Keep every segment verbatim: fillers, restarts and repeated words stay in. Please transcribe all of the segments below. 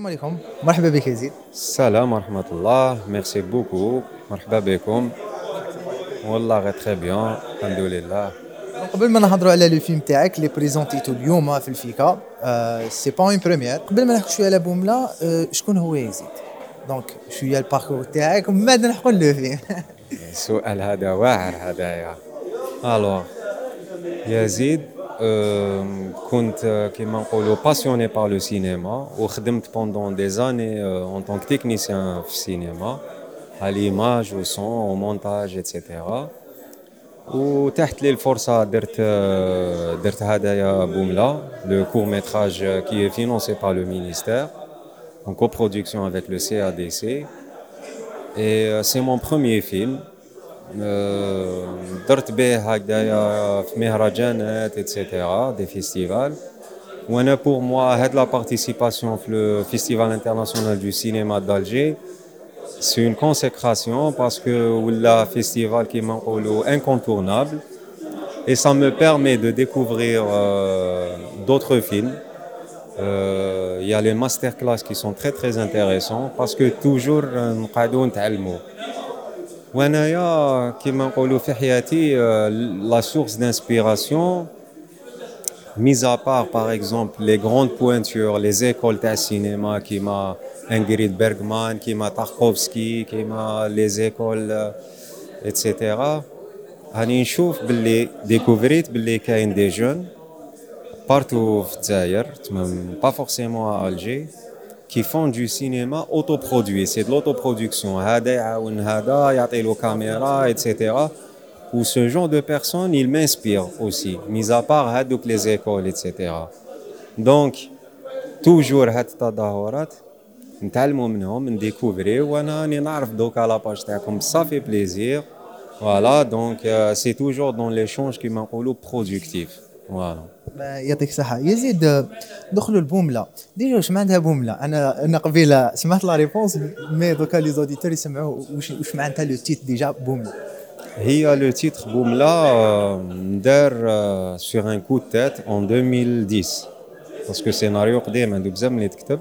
عليكم. مرحبا بك يزيد. السلام ورحمة الله، ميرسي بوكو، مرحبا بكم. والله غير تري بيان، الحمد لله. دونك قبل ما نهضروا على لو فيلم تاعك اللي بريزونتيتو اليوم في الفيكا، آه سي با اون بريمير. قبل ما نحكي شويه على بوملا، آه شكون هو يزيد؟ دونك شويه الباركور تاعك ومن بعد نحكوا لو فيلم. السؤال هذا واعر هذايا. الوغ يزيد، أم، كنت كيما نقولوا باسيوني بار لو سينما وخدمت بوندون دي زاني اون طونك تكنيسيان في السينما على ليماج و سون و مونتاج ايتترا. وتحت لي الفرصة درت درت هدايا بوملا لو كور ميتراج كي est financé par le ministère en coproduction avec le C A D C et c'est mon premier film. درت به هكذايا في مهرجانات ايتترا دي فيستيفال. وانا بور موا هاد لا بارتيسيباسيون في لو فيستيفال انترناسيونال دو سينما d'Alger c'est une consécration parce que ولا فيستيفال كيما نقولوا incontournable. Et ça me permet de découvrir euh, d'autres films. Il euh, y a les masterclass qui sont très très intéressants parce que toujours نقعدوا نتعلموا. وأنايا كيما نقولوا في حياتي la source d'inspiration, mis à part par exemple les grandes pointures, les écoles de cinéma كيما Ingrid Bergman, كيما Tarkovsky, كيما les écoles et cetera. هاني نشوف باللي ديكوفريت باللي كاين دي جون بارتو في الجزائر تمام با فورسيمون ا الجي كي فون دو سينما اوتو برودوي سي دو لوتو برودكسيون هذا يعاون هذا يعطي له كاميرا ايتترا و سو جون دو بيرسون il m'inspire aussi mis à part هذوك لي زيكول ايتترا. دونك توجور هاد التظاهرات نتعلموا منهم نديكوفري وانا راني نعرف دوكا لاباج تاعكم صافي بليزير. Voilà, donc euh, c'est toujours dans l'échange qui m'a dit productif. Voilà. يعطيك الصحة يزيد. دخلوا البوملة ديجا واش معناتها بوملة؟ انا انا قبيله سمعت لا ريبونس مي دوكا لي زوديتور يسمعوا واش واش معناتها لو تيت ديجا بوملة. هي لو تيتر بوملا ندار sur un coup de tête en deux mille dix parce que سيناريو قديم عنده بزاف ملي تكتب.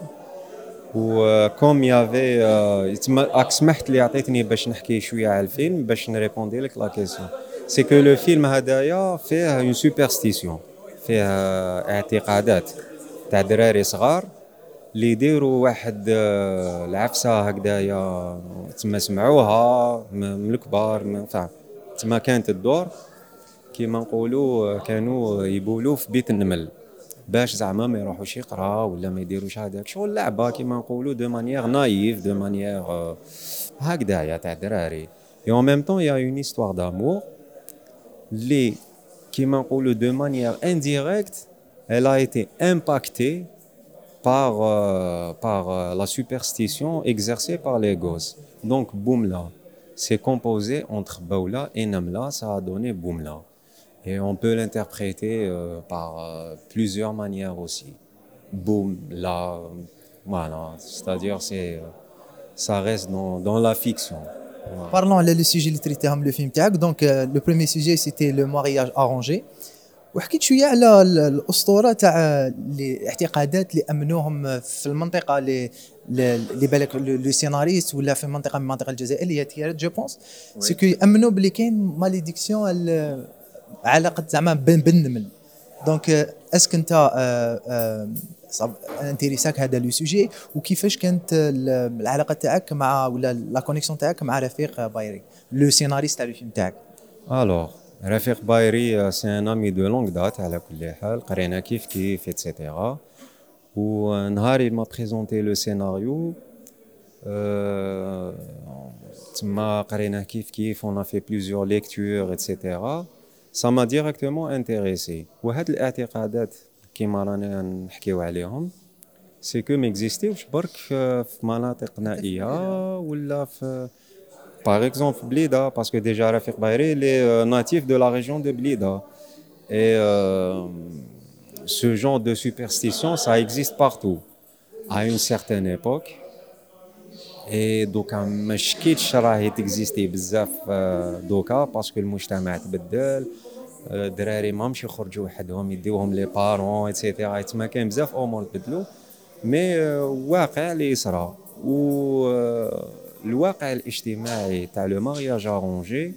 و كوم يافي راك سمحت لي عطيتني باش نحكي شويه على الفيلم باش نريبوندي لك لا كيسيون. سي كو لو فيلم هدايا فيه اون سوبرستيسيون، فيه اعتقادات تاع دراري صغار اللي يديروا واحد العفسه هكذايا تما سمعوها من الكبار فاهم. تما كانت الدور كيما نقولوا كانوا يبولوا في بيت النمل باش زعما ما يروحوش يقراو ولا ما يديروش هذاك شغل لعبه كيما نقولوا دو مانيير نايف دو مانيير هكذايا تاع دراري. et en même temps il y a une histoire d'amour اللي كيما نقولوا de manière indirecte elle a été impactée par euh, par euh, la superstition exercée par les gosses. Donc Boumla c'est composé entre Baoula et Namla, ça a donné Boumla. Et on peut l'interpréter euh, par euh, plusieurs manières aussi. Boum, là, voilà, c'est-à-dire c'est, ça reste dans, dans la fiction. Voilà. Parlons على لو سوجي اللي تريتيهم لو فيلم تاعك. دونك لو بريمي سوجي سيتي لو مارياج ارونجي، وحكيت شويه على الاسطوره تاع الاعتقادات اللي امنوهم في المنطقه اللي اللي بالك لو سيناريست ولا في منطقه من المناطق الجزائريه اللي هي تيارات جو بونس سي كو امنوا بلي كاين ماليديكسيون علاقه زعما بين النمل. دونك اسك انت انتريساك هذا لو سوجي وكيفاش كانت العلاقه تاعك مع ولا لا كونيكسيون تاعك مع رفيق بايري لو سيناريست تاع الفيلم تاعك؟ Alors, رفيق بايري سي ان امي دو لونغ دات على كل حال، قرينا كيف كيف ايتترا. ونهاري ما بريزونتي لو سيناريو تما قرينا كيف كيف on a fait plusieurs lectures ايتترا. ça m'a directement intéressé. وهاد الاعتقادات كيما رانا نحكيو عليهم سي كو ميكزيستيوش برك في مناطق نائيه ولا في par exemple Blida parce que déjà Rafik Bayri il est euh, natif de la région de Blida et euh, ce genre de superstition ça existe partout à une certaine époque. et donc مش كيتش راهي تكزيستي بزاف دوكا باسكو المجتمع تبدل، الدراري ما مشي يخرجوا وحدهم يديوهم لي بارون ايتترا. تما كاين بزاف امور تبدلوا. مي واقع اللي يصرى والواقع الاجتماعي تاع لو مارياج ارونجي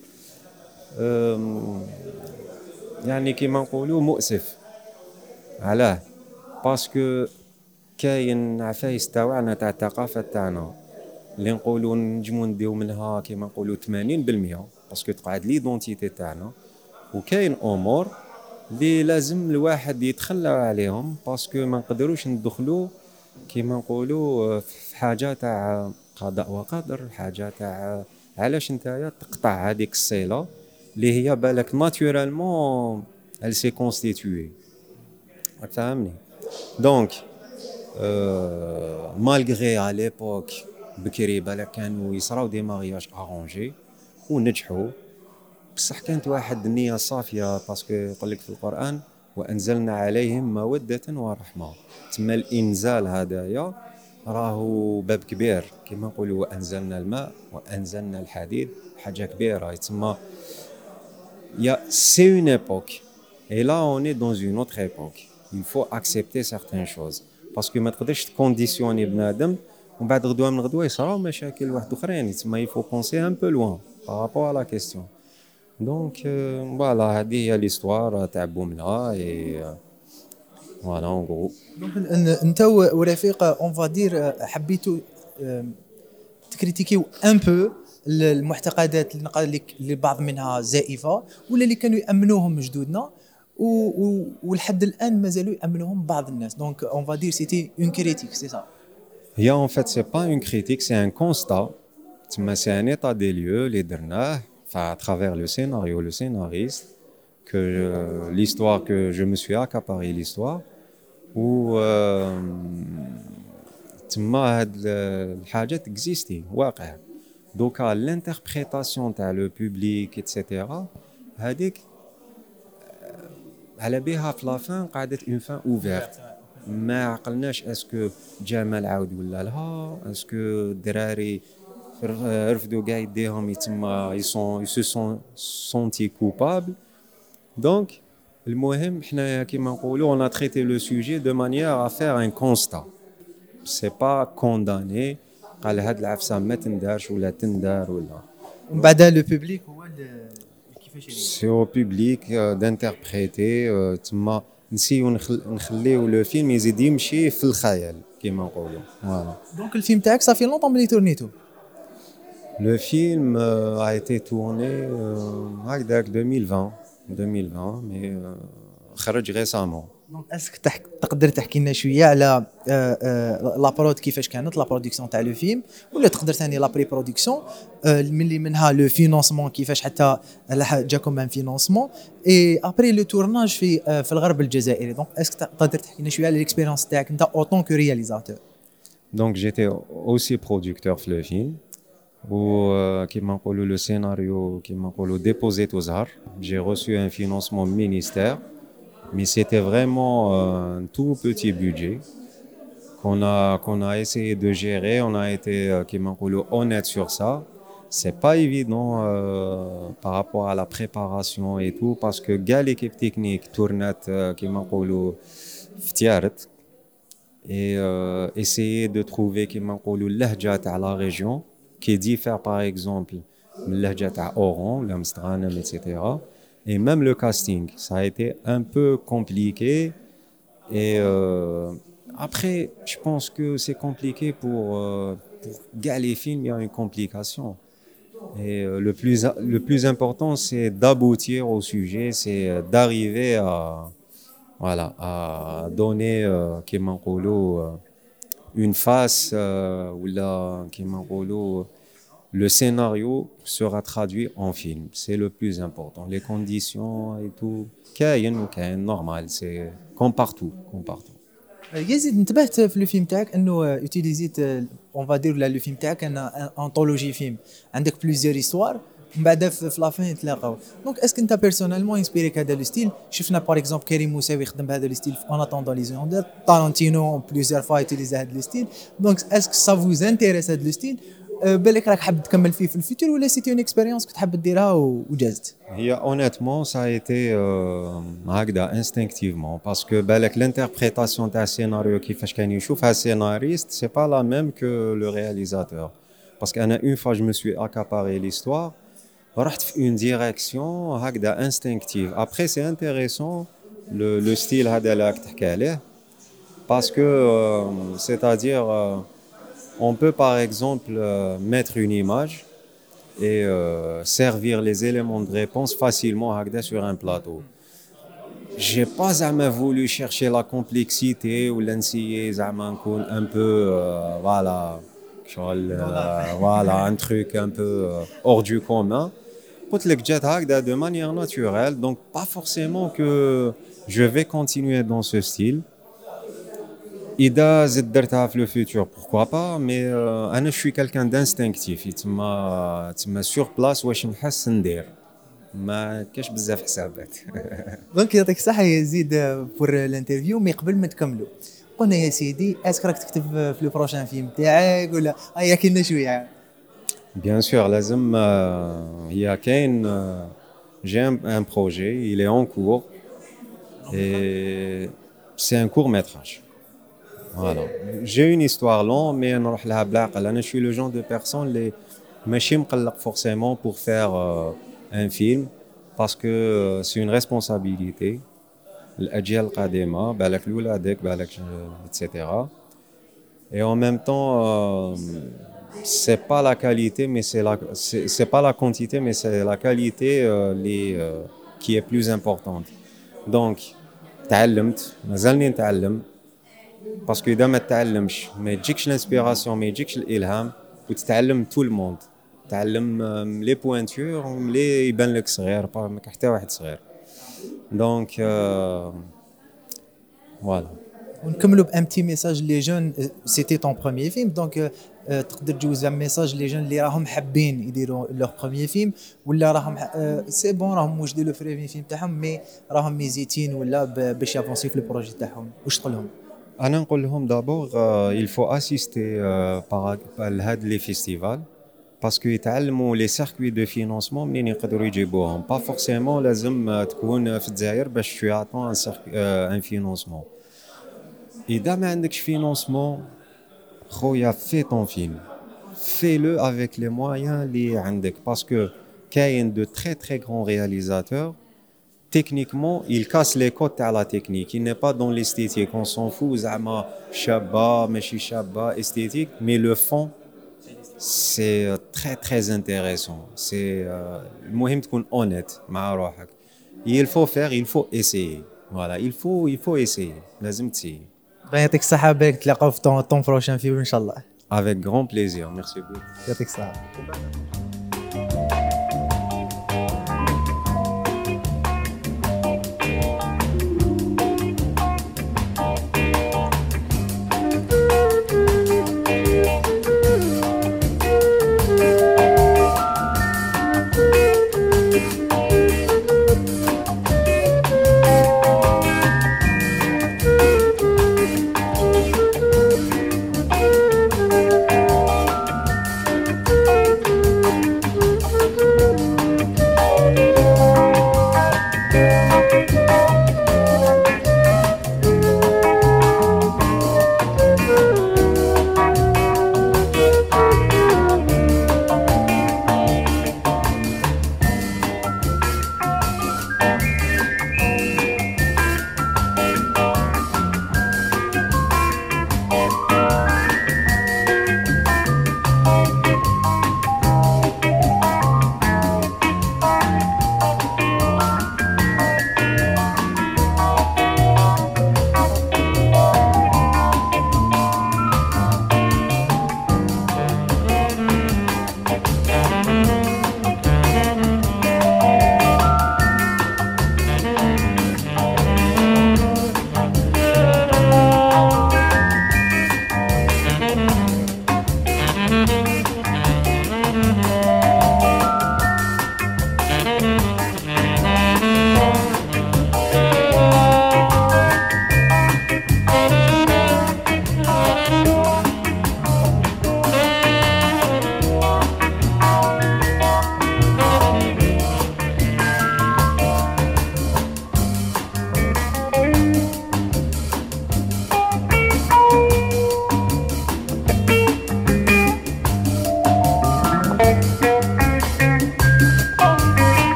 يعني كيما نقولوا مؤسف. علاه؟ باسكو كاين عفايس تاعنا تاع الثقافه تاعنا اللي نقولوا نجمو نديو منها كيما نقولوا ثمانين بالمئة باسكو تقعد ليدونتيتي تاعنا، وكاين امور اللي لازم الواحد يتخلى عليهم باسكو ما نقدروش ندخلوا كيما نقولوا في حاجه تاع قضاء وقدر، حاجه تاع علاش نتايا تقطع هذيك الصله اللي هي بالك ناتورالمون elle s'est constituée. فهمني؟ دونك مالغري à l'époque بكري بالك كانوا يصراو دي مارياج ارونجي ونجحوا، بصح كانت واحد النية صافية باسكو يقول لك في القرآن وأنزلنا عليهم مودة ورحمة. تما الإنزال هدايا راهو باب كبير كما نقولوا وأنزلنا الماء وأنزلنا الحديد، حاجة كبيرة. تما يا سي اون époque et là on est dans une autre époque. Il faut accepter certaines choses باسكو ما تقدرش تكونديسيوني بنادم ومن بعد غدوه من غدوه يصراو مشاكل واحد اخرين. تما il faut penser un peu loin par rapport à la question. Donc euh, voilà, هذه هي ليستوار تاع بوملا اي فوالا اون غرو. دونك انت ورفيق اون فادير حبيتوا تكريتيكيو ان بو المعتقدات اللي نقال لك اللي بعض منها زائفه ولا اللي كانوا يامنوهم جدودنا ولحد الان مازالوا يامنوهم بعض الناس. دونك اون فادير سيتي اون كريتيك سي سا. هي en fait c'est pas une critique, c'est un constat. تما c'est un état des lieux اللي درناه à travers le scénario, le scénariste, que euh, l'histoire que je me suis accaparé l'histoire où تما هاد الحاجات existي واقع. دوكا l'interprétation تاع le public et cetera هذيك على بها في لافان قعدت اون فان اوفيرت. ما عقلناش اسكو جمال عاود ولا لها، اسكو الدراري رفدوا كاع يديهم يتما يسون يسو سون سونتي كوبابل. دونك المهم حنا كيما نقولوا on a traité le sujet de manière à faire un constat, c'est pas condamné قال هاد العفسه ما تندارش ولا تندار ولا. ومن بعد لو بوبليك هو كيفاش سي او بوبليك دانتربريتي. تما نسيو نخليو لو فيلم يزيد يمشي في الخيال كيما نقولوا. فوالا دونك الفيلم تاعك صافي لونطون ملي تورنيتو. Le film euh, a été tourné هكذاك euh, deux mille vingt, mais euh, خرج récemment. دونك اسك تقدر تحكي لنا شويه على لا برود كيفاش كانت لا برودكسيون تاع لو فيلم، ولا تقدر ثاني لا بري برودكسيون ملي منها لو فينانسمون كيفاش حتى جاكم ان فينانسمون اي ابري لو تورناج في في الغرب الجزائري. دونك اسك تقدر تحكي لنا شويه على ليكسبيريونس تاعك انت اوتون كو رياليزاتور. دونك جيتي اوسي برودكتور في لو فيلم و كيما نقولوا لو سيناريو كيما نقولوا ديبوزيت au Zahar. J'ai reçu un financement ministère, mais c'était vraiment un tout petit budget qu'on a qu'on a essayé de gérer. On a été كيما نقولوا honnête sur ça. C'est pas évident euh, par rapport à la préparation et tout parce que كاع l'équipe technique tournait كيما نقولوا فتيارت et euh, essayer de trouver كيما نقولوا اللهجه تاع la région qui diffère par exemple من اللهجة تاع Oran, l'Amsterdam, et cetera. Et même le casting, ça a été un peu compliqué. Et euh, après, je pense que c'est compliqué pour, euh, pour gars les films, il y a une complication. Et euh, le plus, le plus important, c'est d'aboutir au sujet, c'est d'arriver à, voilà, à donner, كيما نقولوا, une face euh, ou là كيما نقولوا le scénario sera traduit en film, c'est le plus important. Les conditions et tout كاين وكاين normal, c'est comme partout comme partout. يزيد انتبهت في الفيلم تاعك انه يوتيليزيت اون فادير ولا لو فيلم تاعك ان انطولوجي فيلم عندك بليزيور هيستوار من بعد في لافين يتلاقاو. دونك اسك انت بيرسونيلمون انسبيريك هذا لو ستيل؟ شفنا باغ اكزومبل كريم موساوي يخدم بهذا لو ستيل اون اتوندون لي زوندر، تارانتينو بليزيور فوا يوتيليزي هذا لو ستيل. دونك اسك سا فوز انتيريس هذا لو ستيل بالك راك حاب تكمل فيه في الفيتور ولا سيتي اون اكسبيريونس كنت حاب ديرها وجازت؟ هي honnêtement ça a été euh, هكذا instinctivement parce que بالك l'interprétation تاع السيناريو كيفاش كان يشوفها السيناريست c'est pas la même que le réalisateur parce qu'أنا une fois je me suis accaparé l'histoire رحت في une direction هكذا instinctive après c'est intéressant le, le style هذا اللي راك تحكي عليه parce que euh, c'est-à-dire euh, on peut par exemple euh, mettre une image et euh, servir les éléments de réponse facilement هكذا sur un plateau. J'ai pas jamais voulu chercher la complexité ou l'essayer زعما نكون un peu euh, voilà شغل euh, voilà un truc un peu euh, hors du commun. قلت لك جات هكذا de manière naturelle donc pas forcément que je vais continuer dans ce style. إذا زدت درتها في لو فيتور pourquoi pas mais euh, أنا je suis quelqu'un d'instinctif يتما تما sur place واش نحس ندير ما كاش بزاف حسابات. دونك يعطيك الصحة يزيد بور الانترفيو مي قبل ما تكملوا قلنا يا سيدي اسك راك تكتب في لو بروشان فيلم تاعك ولا هيا كاين شوية؟ Bien sûr لازم هي كاين j'ai un projet il est en cours et c'est un court métrage. Voilà. J'ai une histoire longue, mais نروح لها بالعقل. أنا je suis le genre de personne اللي ماشي مقلق forcément pour faire euh, un film parce que euh, c'est une responsabilité. الأجيال القادمة بالك لولادك بالك et cetera. Et en même temps, euh, c'est pas la qualité, mais c'est la c'est, c'est pas la quantité, mais c'est la qualité euh, les, euh, qui est plus importante. Donc, تعلمت مازالني نتعلم. باسكو اذا ما تعلمش ما يجيكش الانسبيراسيون ما يجيكش الالهام وتتعلم تو الموند تعلم لي بوينتور ملي يبان لك صغير ما حتى واحد صغير دونك فوالا ونكملوا بان بتي ميساج لي جون سيتي طون بروميير فيلم دونك تقدر تجوز ان ميساج لي جون اللي راهم حابين يديروا لور بروميير فيلم ولا راهم سي بون راهم واش ديروا فريفين فيلم تاعهم مي راهم ميزيتين ولا باش يافونسي في البروجي تاعهم واش تقول لهم؟ أنا نقول لهم d'abord euh, il faut assister euh, par لهاد لي فيستيفال باسكو يتعلموا لي سيركوي دو فينانسمون منين يقدروا يجيبوهم با فورسيمون لازم تكون في الجزائر باش tu attends un un financement. إذا ما عندكش فينانسمون خويا في ton film fais-le avec les moyens اللي عندك باسكو كاين de très très grands réalisateurs. Techniquement, il casse les codes à la technique. Il n'est pas dans l'esthétique. On s'en fout, zama, shabba, meshi shabba, esthétique. Mais le fond, c'est très très intéressant. C'est المهم تكون honnête مع روحك. Il faut faire, il faut essayer. Voilà, il faut, il faut essayer. لازم تسيي. يعطيك الصحة بك تلاقاو في طون بروشان فيلم إن شاء الله. Avec grand plaisir. Merci beaucoup. يعطيك الصحة.